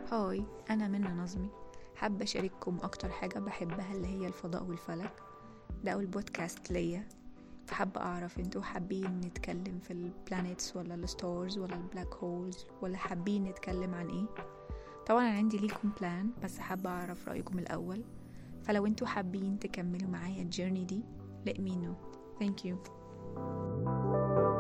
هاي، أنا منى نظمي. حابة أشارككم أكتر حاجة بحبها اللي هي الفضاء والفلك. ده أول بودكاست ليا، فحابة أعرف انتوا حابين نتكلم في البلانيتس ولا الستارز ولا البلاك هولز، ولا حابين نتكلم عن ايه؟ طبعا أنا عندي ليكم بلان، بس حابة أعرف رأيكم الأول. فلو انتوا حابين تكملوا معايا الجيرني دي let me know. Thank you.